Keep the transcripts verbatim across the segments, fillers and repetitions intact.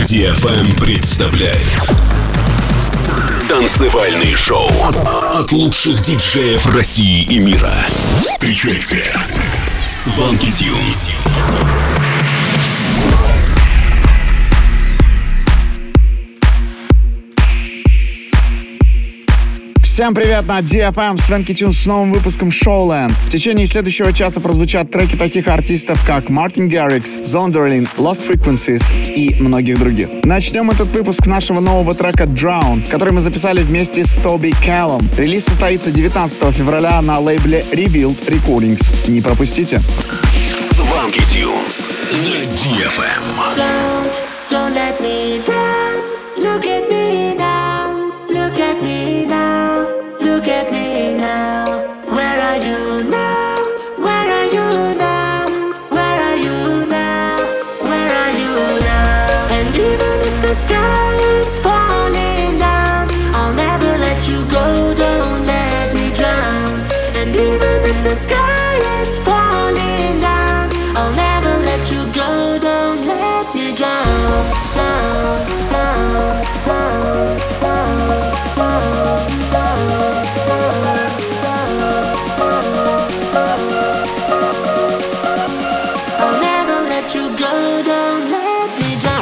ди эф эм представляет танцевальный шоу от лучших диджеев России и мира. Встречайте Swanky Tunes. Всем привет на ди эф эм, Swanky Tunes с новым выпуском Showland. В течение следующего часа прозвучат треки таких артистов, как Мартин Гаррикс, Zonderling, Lost Frequencies и многих других. Начнем этот выпуск с нашего нового трека Drown, который мы записали вместе с Тоби Кэллом. Релиз состоится девятнадцатого февраля на лейбле Revealed Recordings. Не пропустите. Swanky Tunes на ди эф эм. Don't, don't let me down. Look at me now. Look at me now. Look at me now. Where are you now? Where are you now? Where are you now? Where are you now? And even if the sky is falling down, I'll never let you go. Don't let me drown. And even if the sky is falling down, I'll never let you go. Don't let me drown. Down, down, down, down, down, down. I'll never let you go, don't let me down.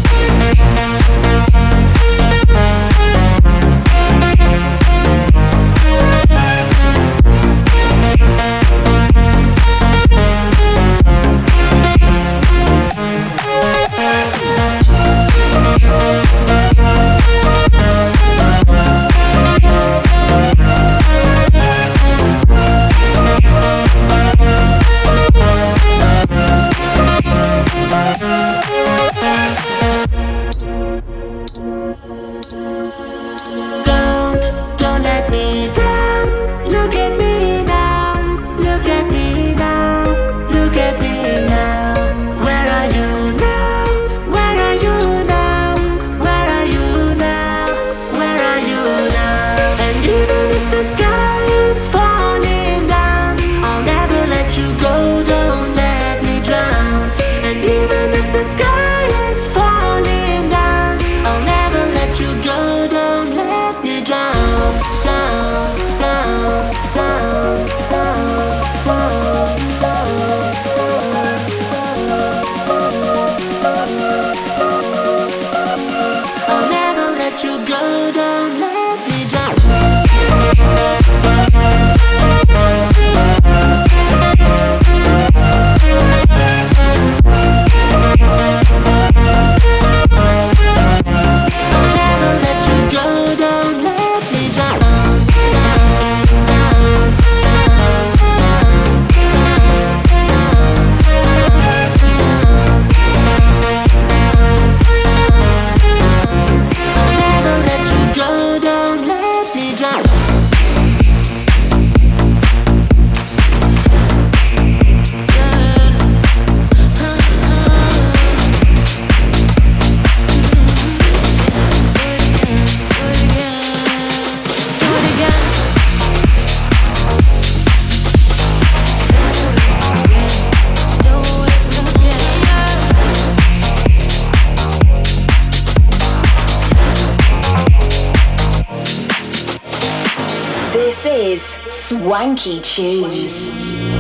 Swanky Tunes.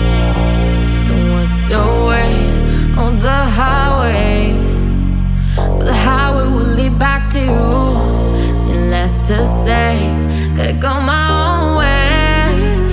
What's your way on the highway? But the highway will lead back to you. And less to say, gotta go my own way.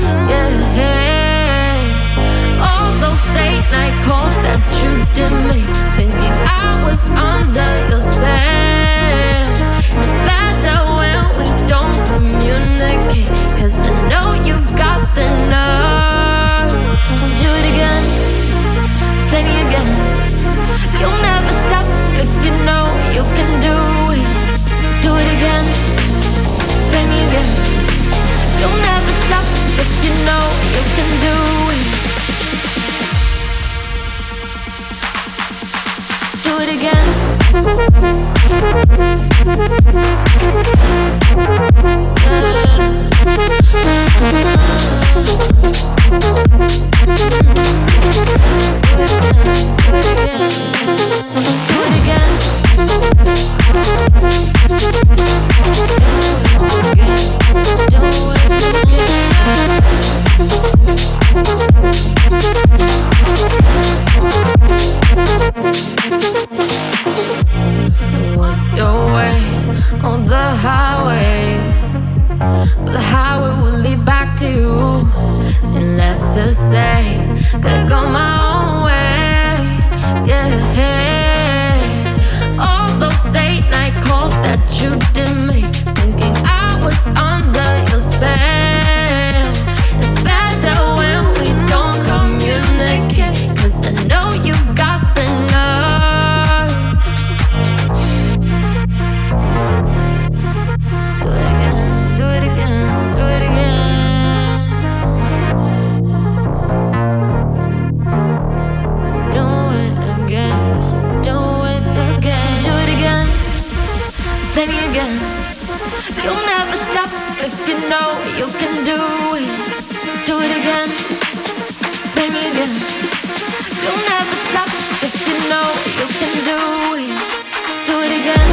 Yeah. All those late night calls that you did me, thinking I was under your spell. It's bad that when we don't communicate, 'cause I know you've got the nerve. Do it again, play me again. You'll never stop if you know you can do it. Do it again, play me again. You'll never stop if you know you can do it. Do it again. Do it again. play me again. You'll never stop if you know you can do it. Do it again. Play me again. You'll never stop if you know you can do it. Do it again.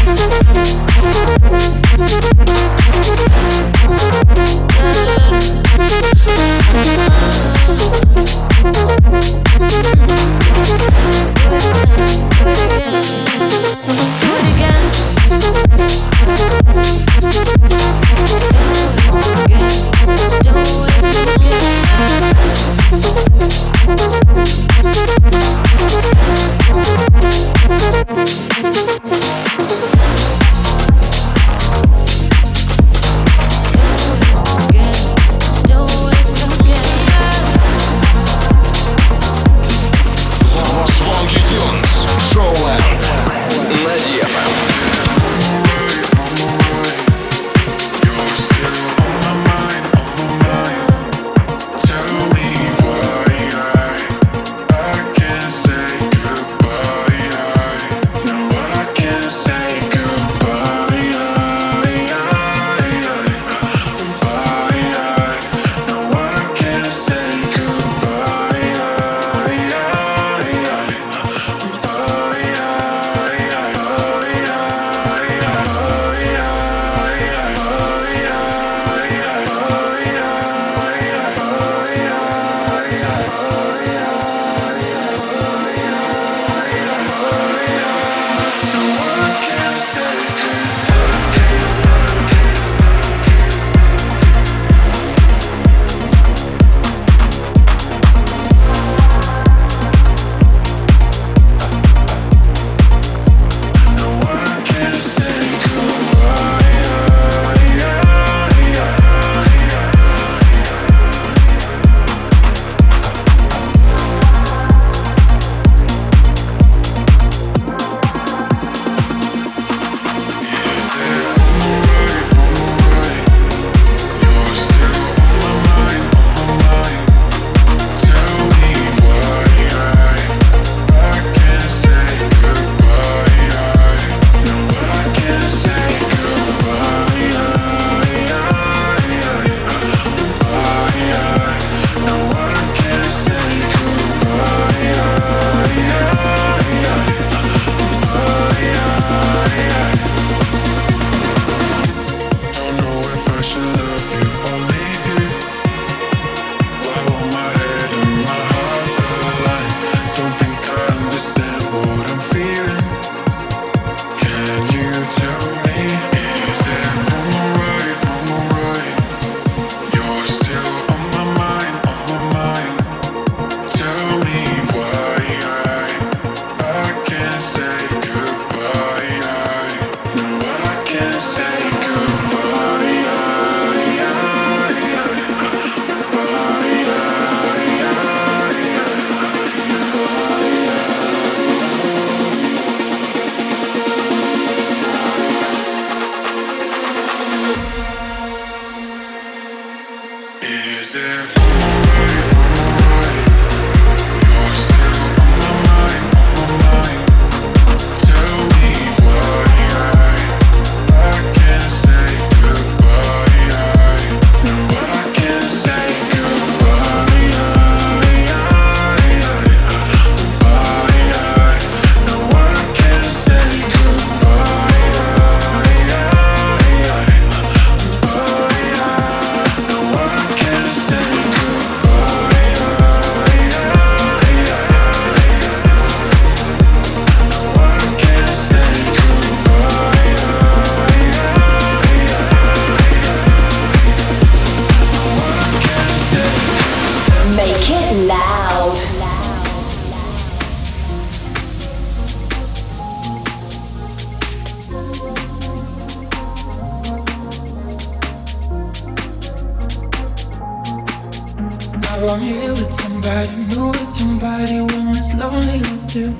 I'm here with somebody, new with somebody when it's lonely with you.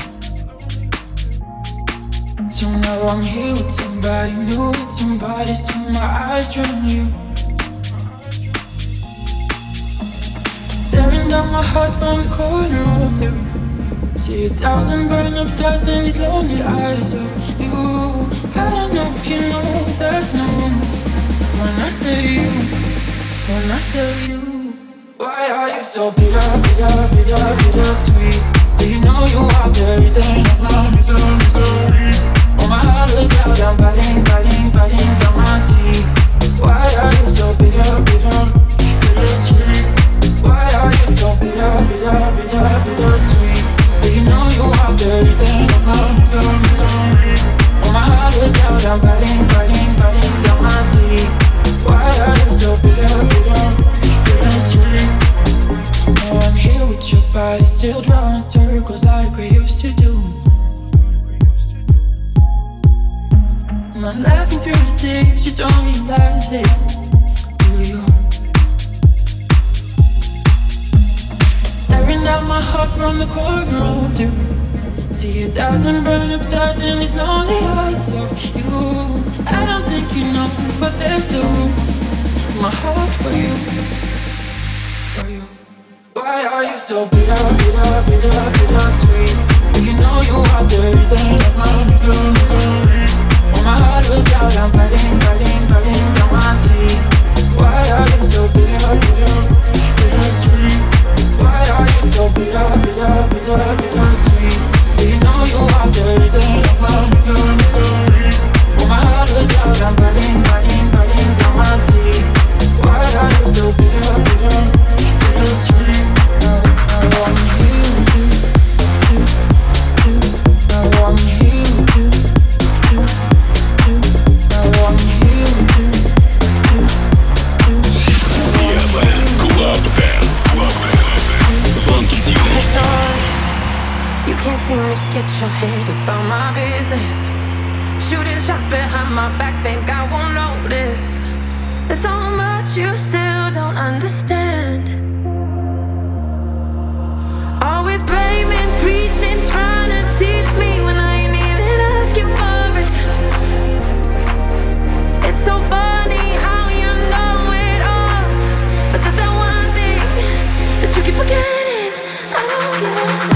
So now I'm here with somebody, new with somebody, so my eyes on you. Staring down my heart from the corner of you. See a thousand burning up stars in these lonely eyes of you. I don't know if you know there's no room when I tell you, when I tell you. Why are you so bitter, bitter, bitter, bitter sweet? Do you know you are the reason of my misery, misery? Oh, my heart was out, I'm biting, biting, biting down my teeth. Why are you so bitter, bitter, bitter sweet? Why are you so bitter, bitter, bitter, bitter sweet? Do you know you are the reason of my misery, misery? Oh, my heart was out, I'm biting, biting, biting down my teeth. Why are you so bitter, bitter, bitter sweet? Now I'm here with your body, still drawing circles like we used to do. And I'm laughing through the tears, you don't realize it, do you? Staring at my heart from the corner of you. See a thousand burn up stars in these lonely eyes of you. I don't think you know, but there's still room in my heart for you, for you. Why are you so bitter, bitter, bitter, bitter sweet? Do you know you are the reason of my misery, misery? Oh, my heart was out, I'm biting, biting, biting down my teeth. Why are you so bitter, bitter, bitter sweet? Why are you so bitter, bitter, bitter, bitter sweet? Do you know you are the reason of my misery, misery? Oh, my heart was out, I'm biting, biting, biting down my teeth. Why are you so bitter, bitter, bitter sweet? I want you to, to, to. I want you to, to, to. I want you to, to, to. ди эф эм Club Dance. Funky Tunes. You can't seem to get your head about my business. Shooting shots behind my back, think I won't notice. There's so much you still don't understand. Always blaming, preaching, trying to teach me when I ain't even asking for it. It's so funny how you know it all, but there's that one thing that you keep forgetting. I don't give a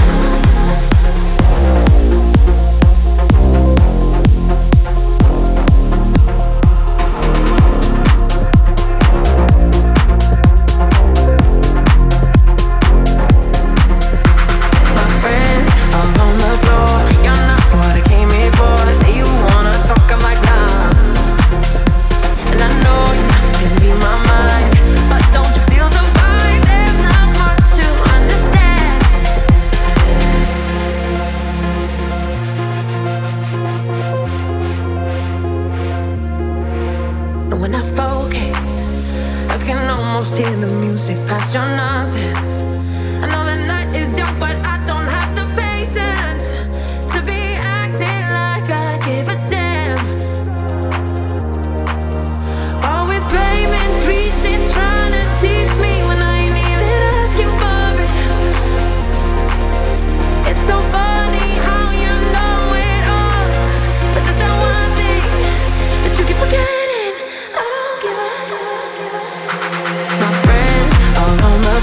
past your nonsense. I know the night is young, but I don't have the patience to be acting like I give a damn. Always blaming, preaching, trying to teach me when I ain't even asking for it. It's so funny how you know it all, but there's that one thing that you keep forgetting. I don't give a, give a, give a. My friends all on the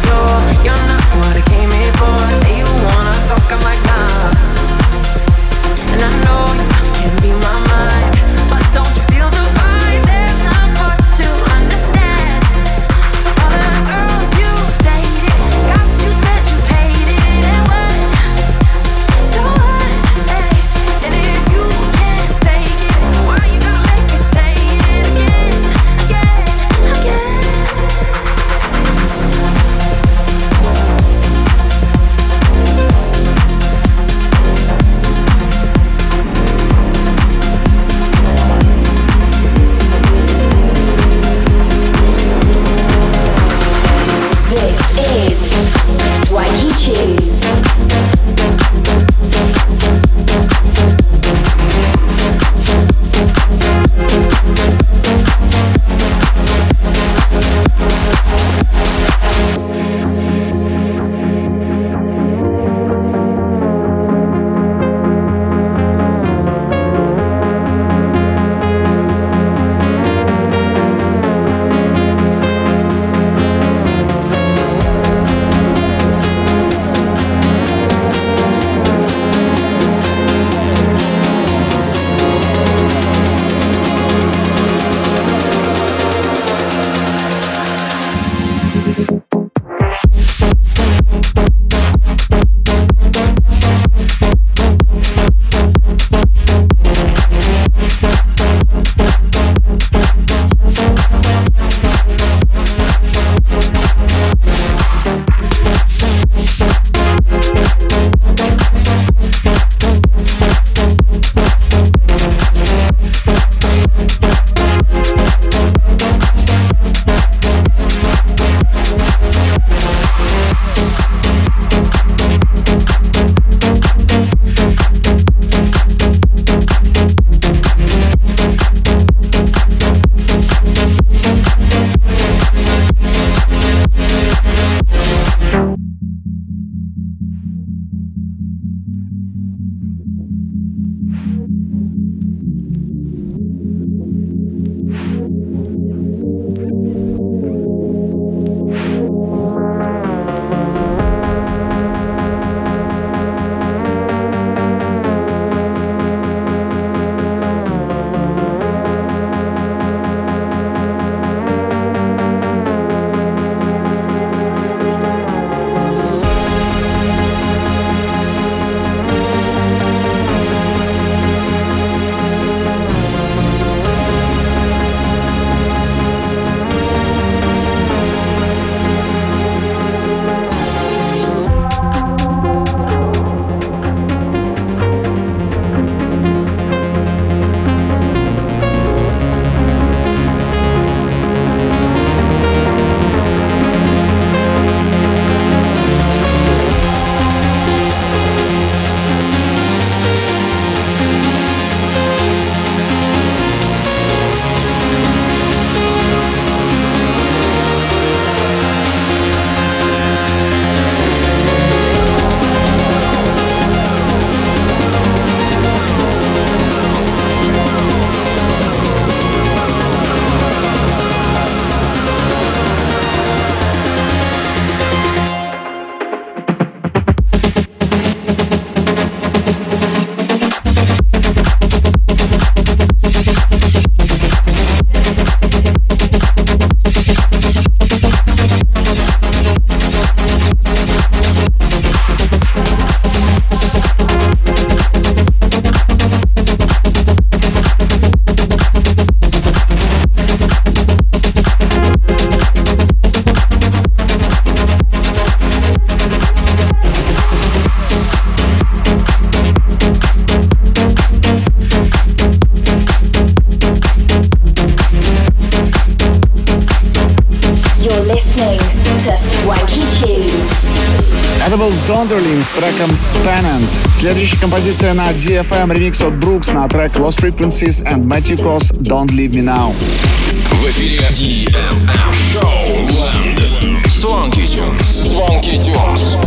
был Zonderling с треком Spannant. Следующая композиция на ди эф эм, ремикс от Brooks на трек Lost Frequencies and Matthew Cos Don't Leave Me Now. В эфире ди эф эм Showland. Swanky Tunes. Swanky Tunes.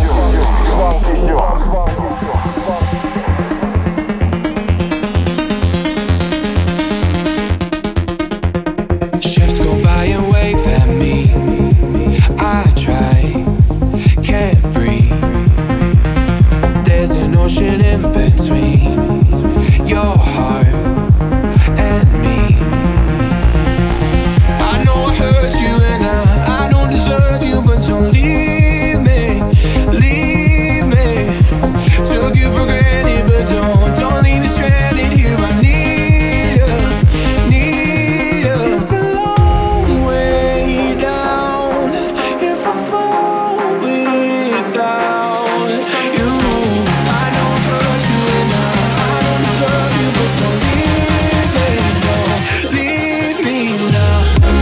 Ships go by and wave at me. I try, can't breathe. There's an ocean in between your heart and me. I know I hurt you and I, I don't deserve you, but don't leave me, leave me. Took you for granted, but don't, don't leave me stranded here. I need you, need you. It's a long way down if I fall without you. I know I hurt you and I, I don't deserve you, but don't leave me, don't leave me now.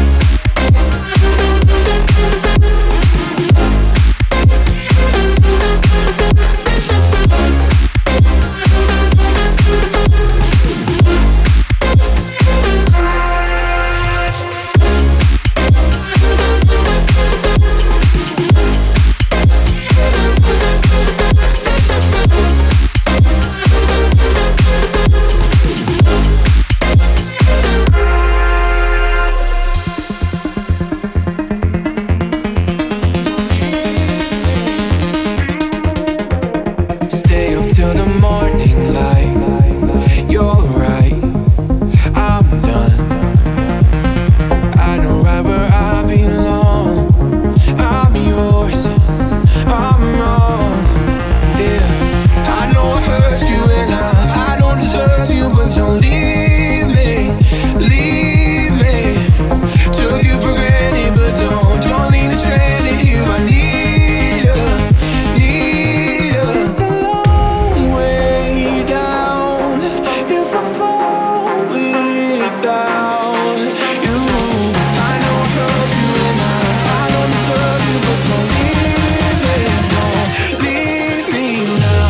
Stay up till the morning light. You're right, I'm done. I know right where I belong. I'm yours, I'm wrong. Yeah, I know I hurt you and I, I don't deserve you, but don't leave me, leave me. Took you for granted, but don't, don't leave me stranded here. I need you, need you. It's a long way down if I fall without you. I know I hurt you and I, I don't deserve you, but don't leave me, don't leave me now.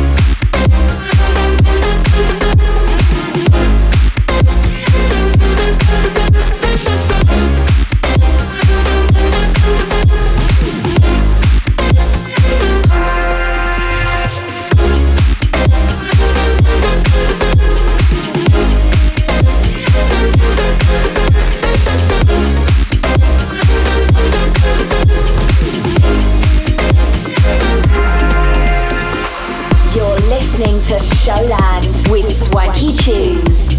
You're listening to Showland with Swanky Tunes.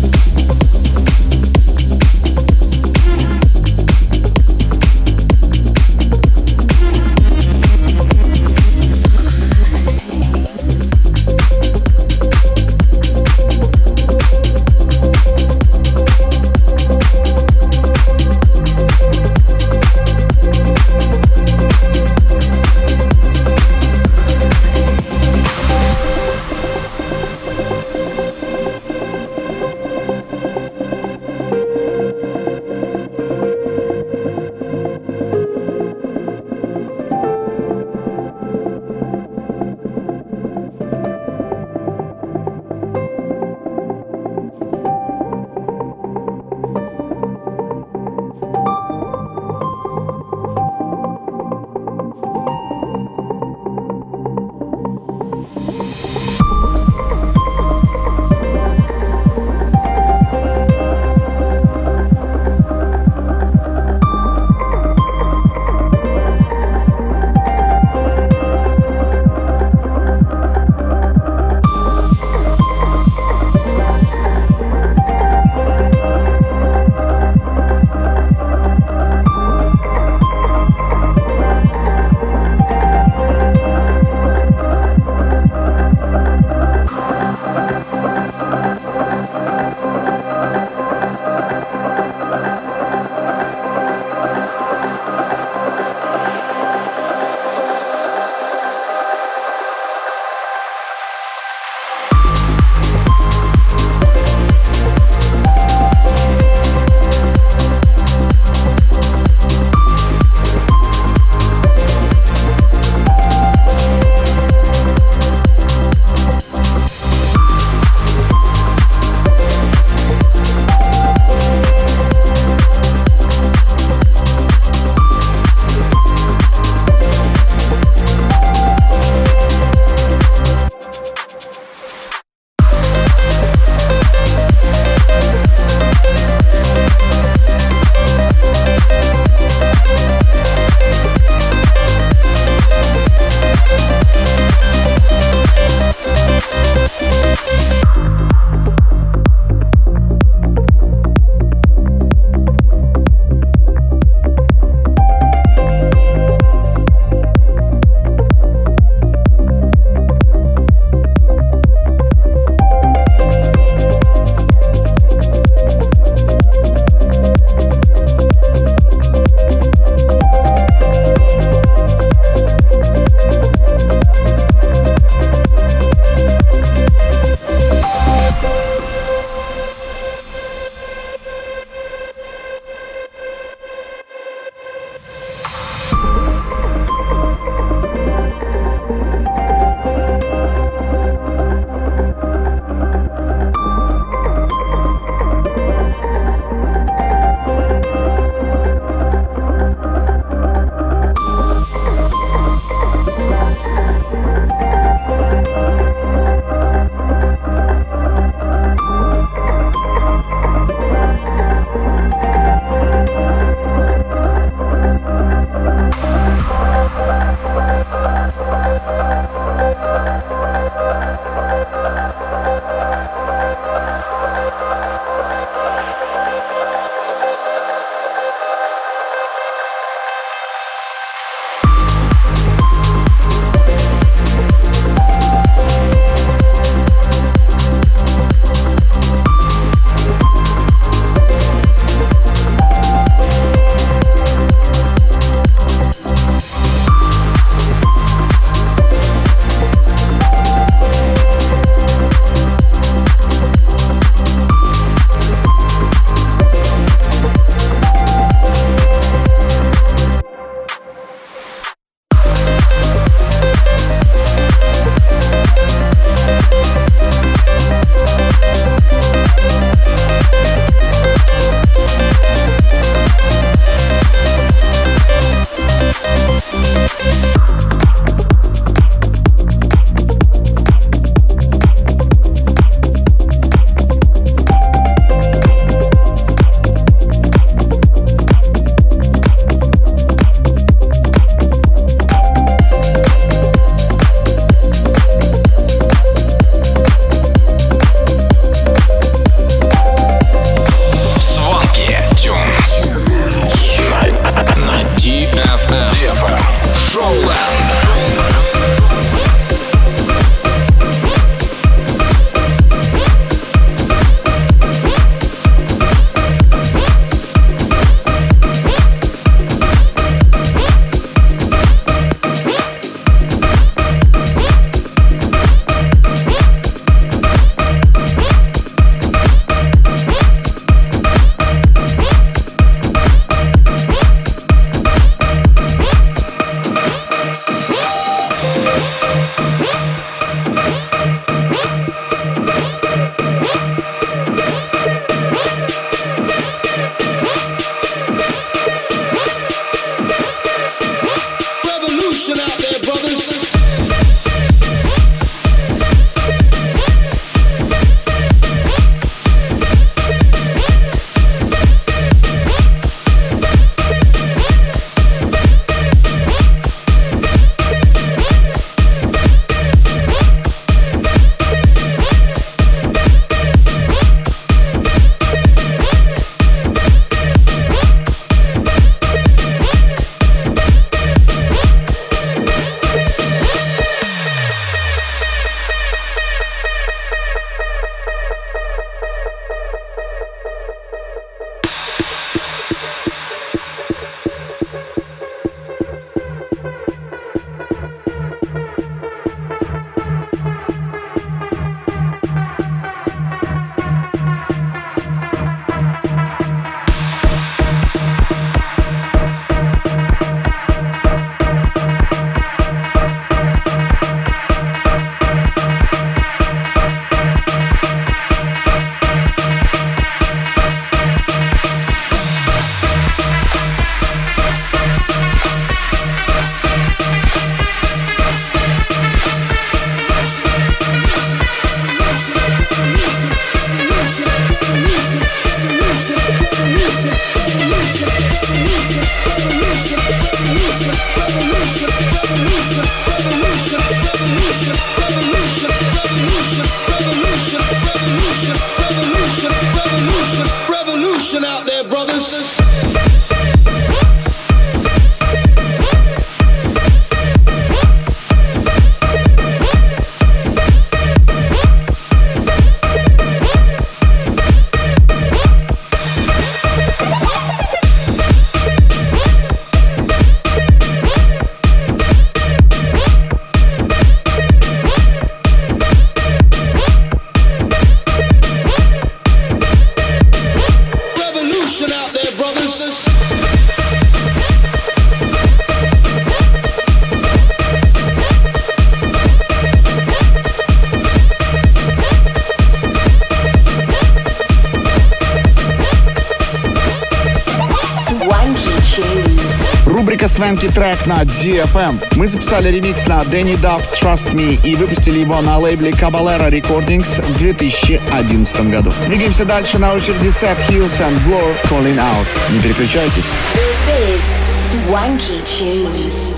Дико свенки трек на ди эф эм. Мы записали ремикс на Danny Duff Trust Me и выпустили его на лейбле Caballero Recordings в две тысячи одиннадцатом году. Двигаемся дальше, на очереди Seth Hills and Blur Calling Out. Не переключайтесь. This is Swanky Tunes.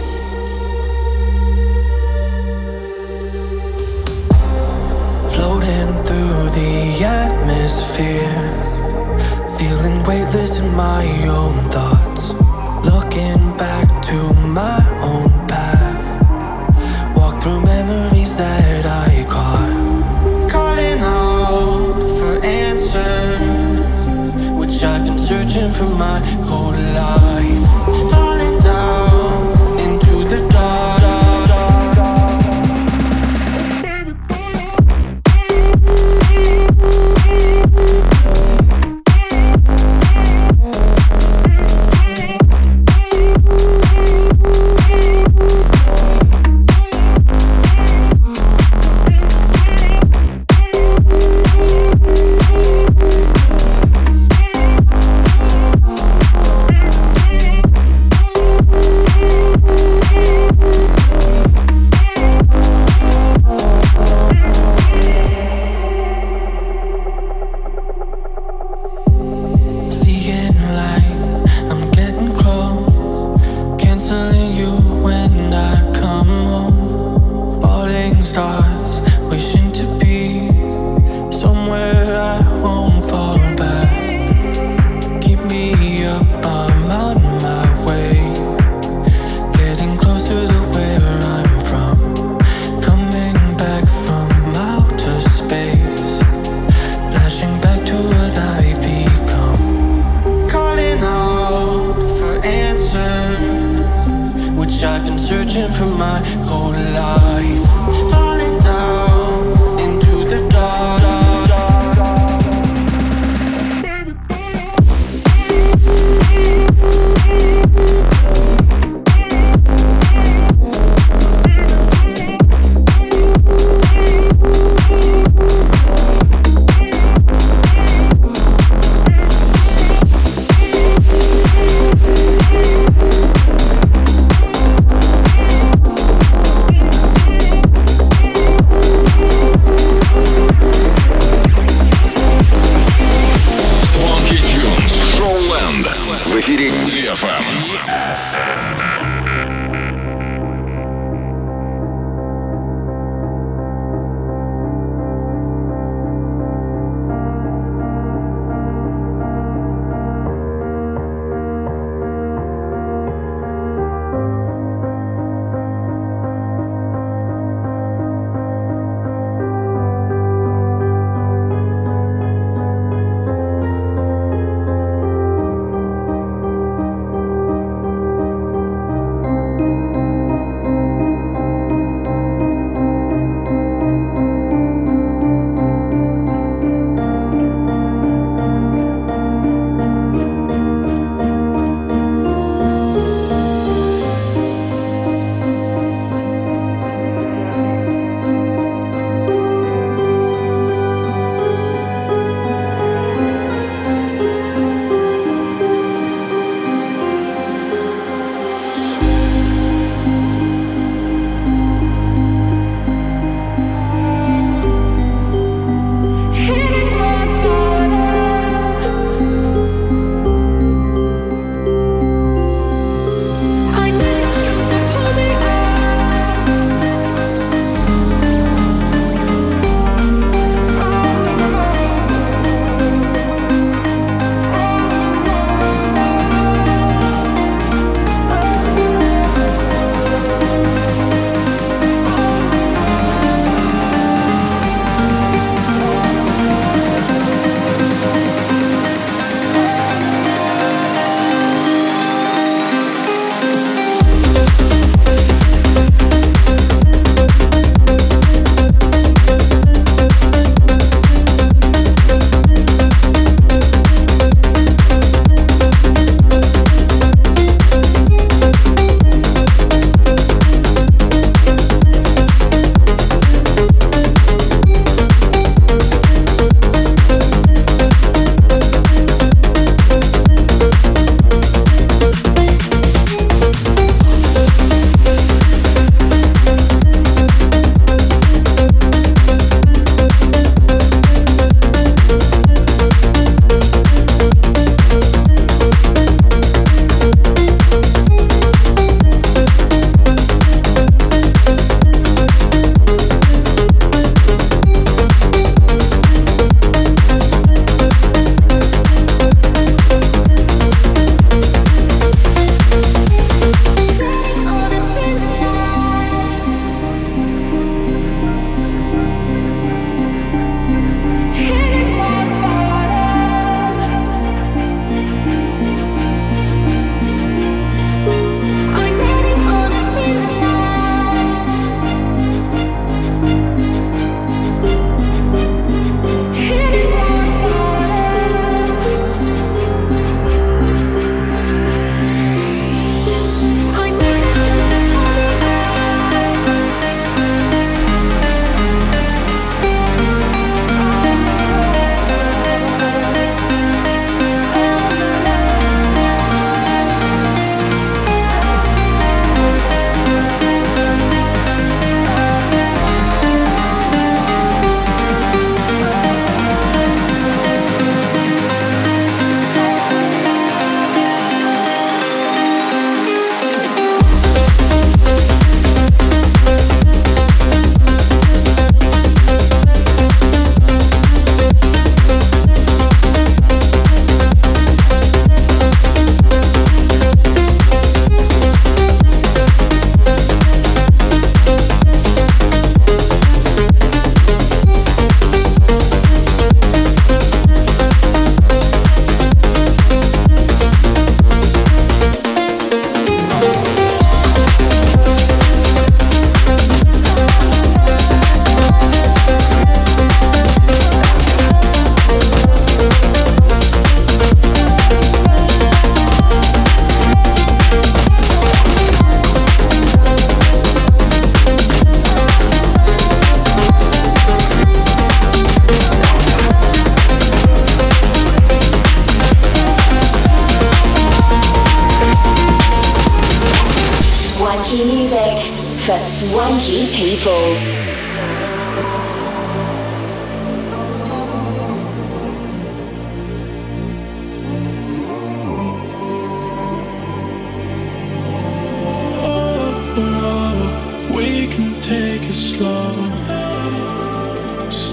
Floating through the atmosphere, feeling weightless in my own thoughts. Looking back to my own path, walk through memories that I caught. Calling out for answers, which I've been searching for my whole life. Falling down into the dark.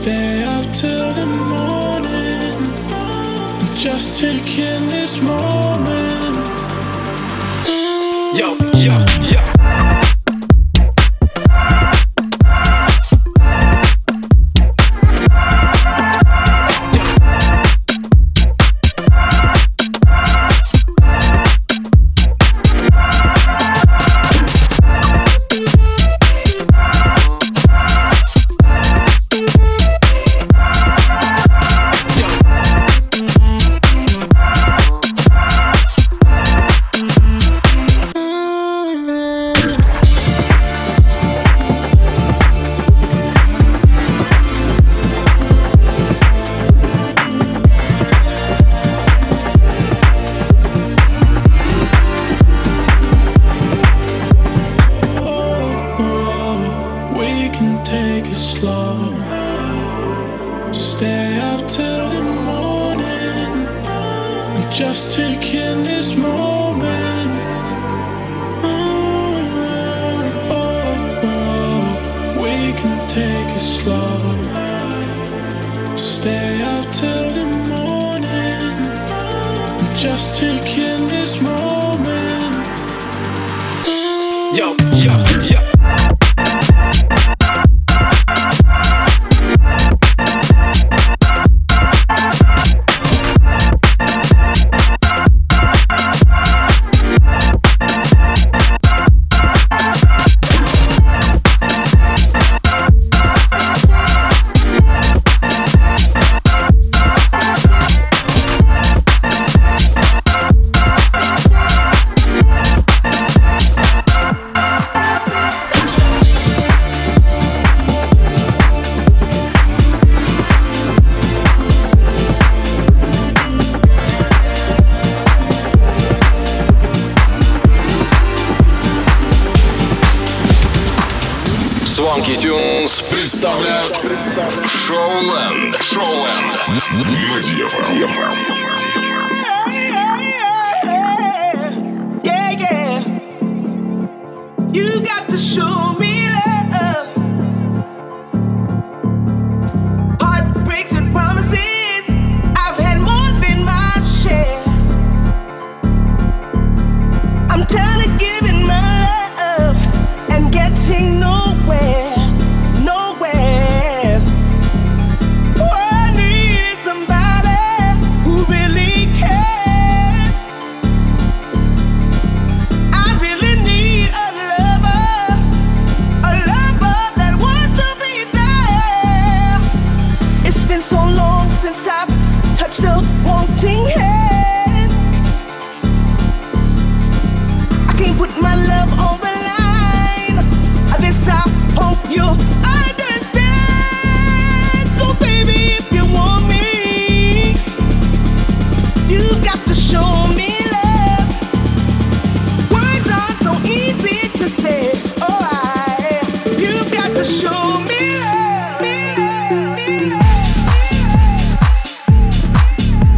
stay up till the morning, just taking this moment. Yo, yo, yo. Just taking this moment. Oh, oh, oh. We can take it slow. Stay up till the morning. Just taking this moment. Yo, yo, yo. Swanky Tunes представляют Showland. Showland на ди эф эм. Yeah, yeah. You got to show me love. Heartbreaks and promises, I've had more than my share. I'm tired of giving my love and getting nowhere. Wanting hand, I can't put my love on the line. This I hope you understand. So baby, if you want me, you got to show me love. Words are so easy to say. Oh, I, you got to show me love. Me love, me love.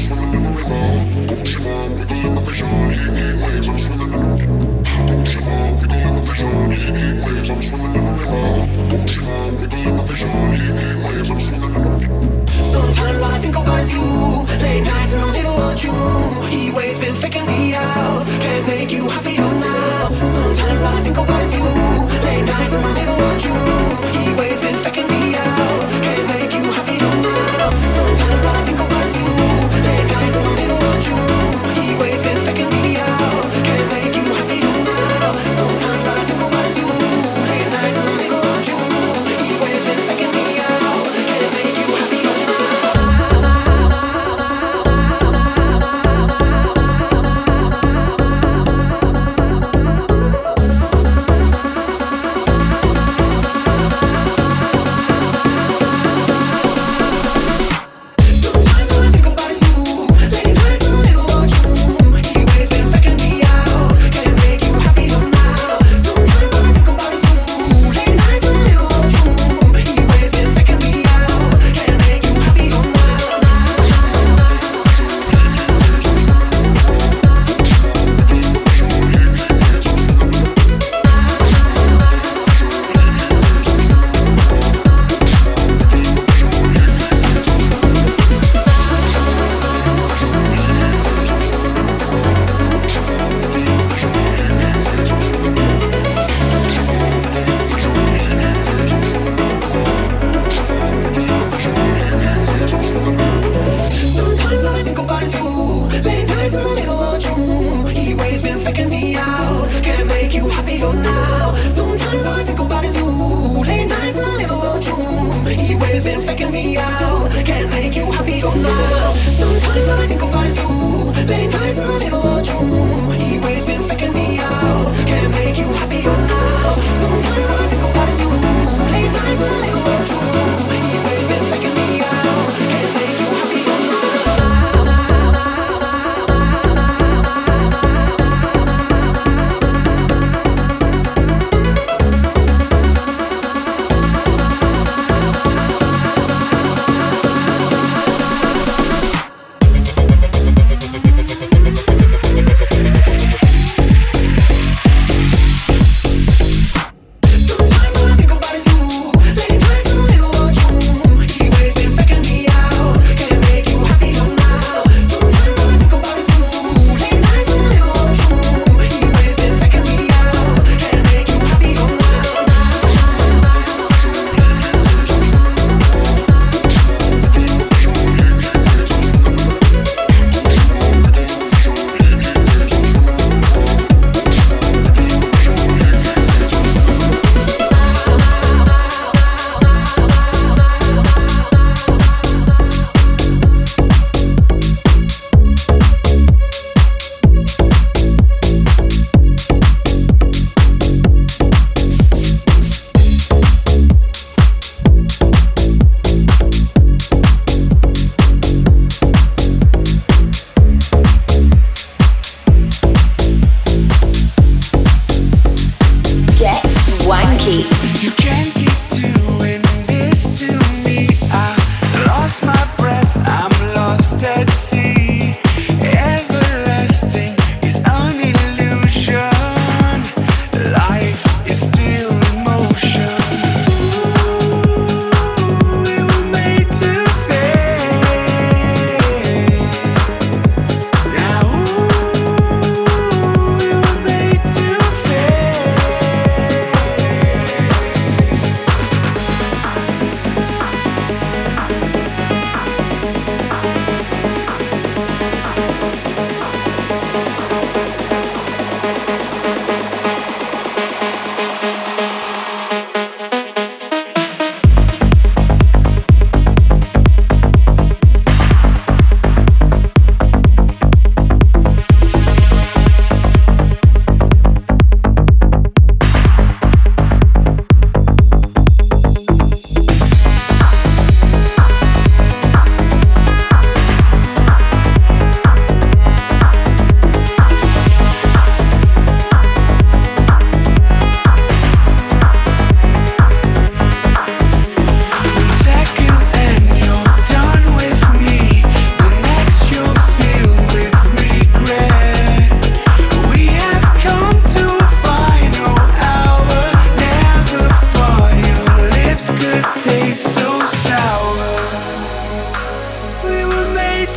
Sometimes all I think about is you. Late nights in the middle of June. He waves been faking me out. Can't make you happier now. Sometimes all I think about is you. Late nights in the middle of June. He waves been faking me out. Can't make you happier now. Sometimes all I think about is you. Late nights in the middle of June. He waves been faking me out. Can't make you happier now. Sometimes all I think about is you. Late nights in the middle of June. He waves been faking me out. Can't make you happier now.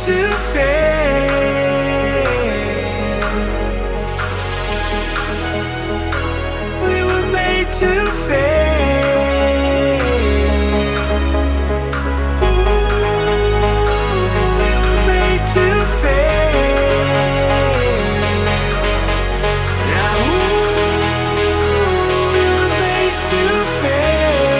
to fail. We were made to fail. Ooh, we were made to fail. Now, ooh, we were made to fail.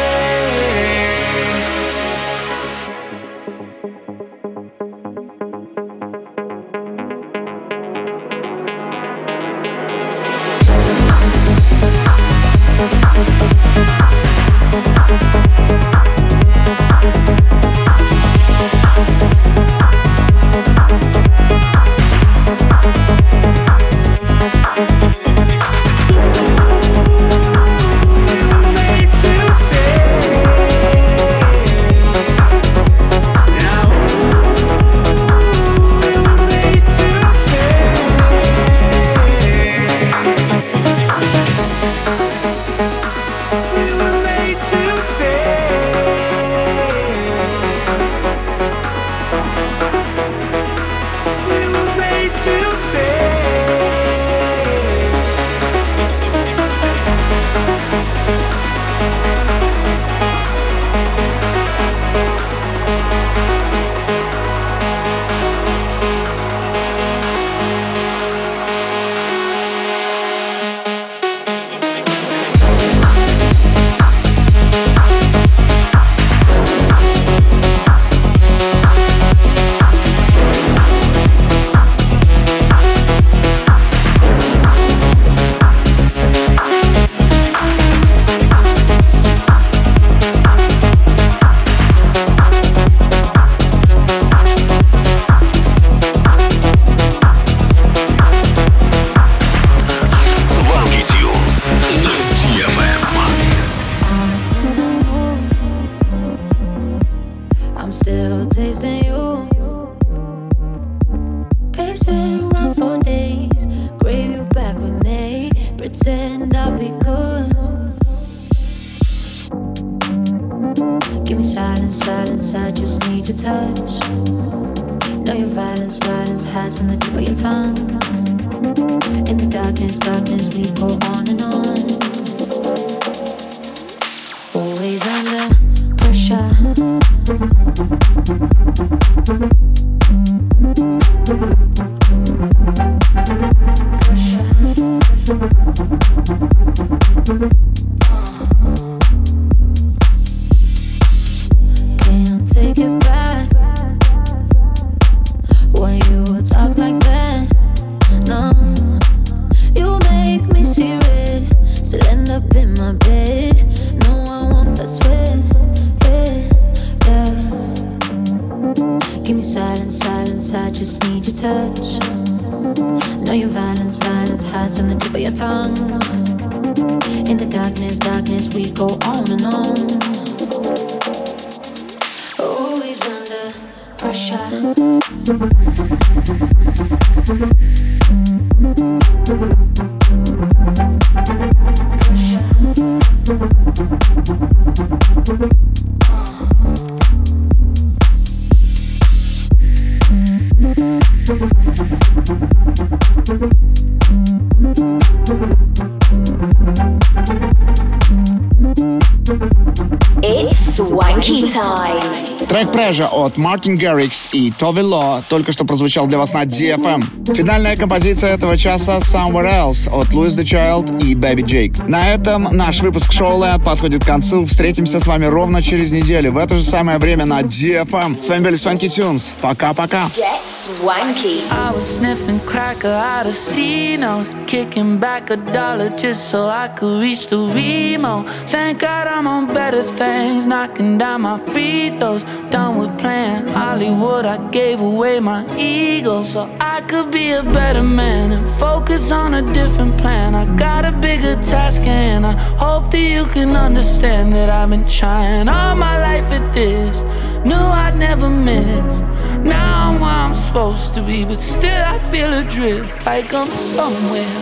It's Swanky Time. Трек Pressure от Martin Garrix и Tove Lo только что прозвучал для вас на ди эф эм. Финальная композиция этого часа Somewhere Else от Louis the Child и Baby Jake. На этом наш выпуск Showland подходит к концу. Встретимся с вами ровно через неделю в это же самое время на ди эф эм. С вами были Swanky Tunes. Пока-пока. Get swanky. I was sniffing cracker out of C-notes, kicking back a dollar just so I could reach the Remo. Thank God I'm on better things, knocking down my free throws. Done with playing Hollywood, I gave away my ego so I could be a better man and focus on a different plan. I got a bigger task and I hope that you can understand that I've been trying all my life at this. Knew I'd never miss. Now I'm where I'm supposed to be, but still I feel adrift, like I'm somewhere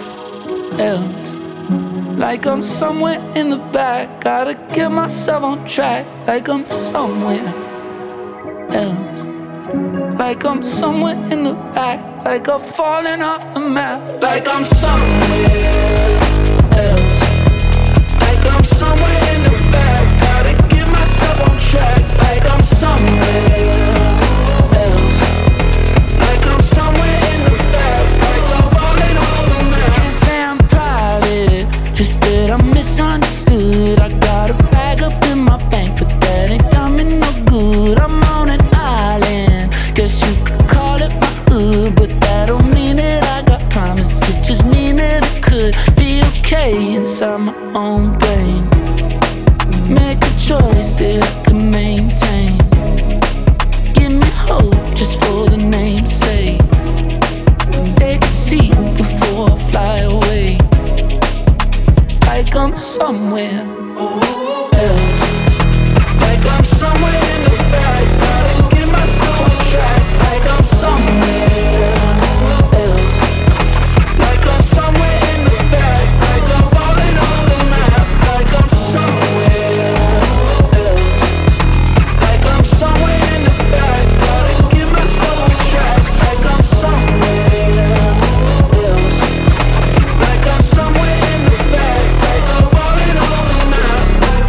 else. Like I'm somewhere in the back, gotta get myself on track. Like I'm somewhere else. Like I'm somewhere in the back, like I'm falling off the map, like I'm somewhere else. Like I'm somewhere in the back, gotta get myself on track, like I'm somewhere else. Like I'm somewhere in the back, like I'm falling off the map. Can't say I'm private, just that I'm misunderstood. I got a bag up in my bank, but that ain't done me no good. I'm on an island, guess you could call it my hood, but that don't mean that I got promise. It just mean that it could be okay inside my own brain. Make a choice that I can maintain. Give me hope just for the name's sake. Take a seat before I fly away. Like I'm somewhere else. Like I'm somewhere in the back, gotta get myself on track. Like I'm somewhere else. Like I'm somewhere in the back, like I'm falling on the map. Like I'm somewhere else. Like I'm somewhere in the back, gotta get myself on track. Like I'm somewhere else. Like I'm somewhere in the back, like I'm falling on the map.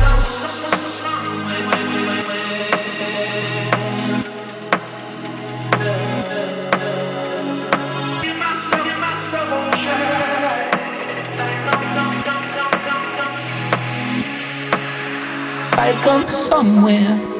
Get myself, get myself on track. Like I'm, I'm, I'm, I'm, I'm, I'm. Like I'm somewhere